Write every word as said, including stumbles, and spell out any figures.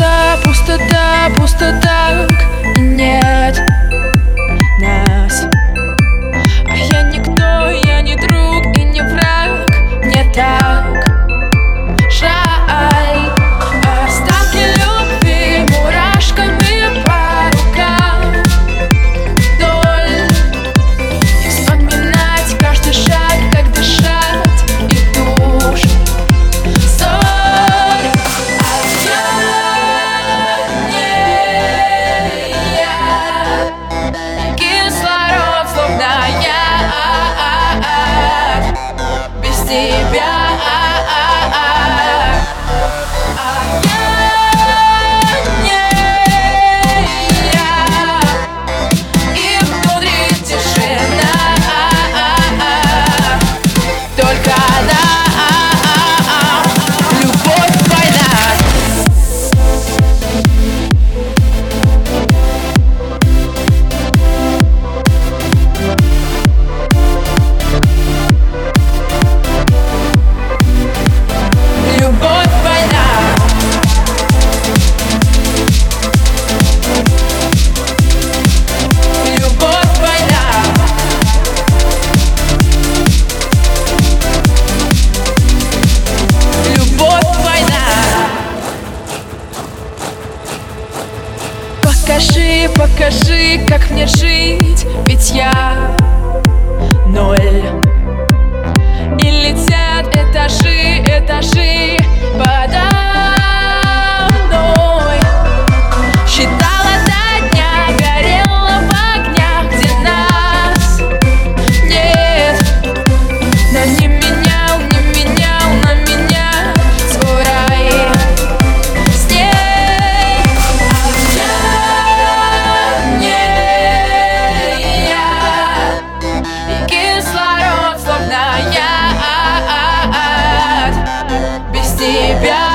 пустота, пустота, пустота, и нет нас. А я никто, я не друг и не враг. Мне так жаль. Остатки любви мурашками по рукам вдоль. И вспоминать каждый шаг, как дышать и душ. Соль. А я не я. Кислород, словно я без тебя. Покажи, покажи, как мне жить, ведь я ноль. И летят этажи, этажи подо мной. Считала до дня, горела в огнях, где нас нет. Но не менял, не менял на меня свой рай. Кислород, словно я без тебя.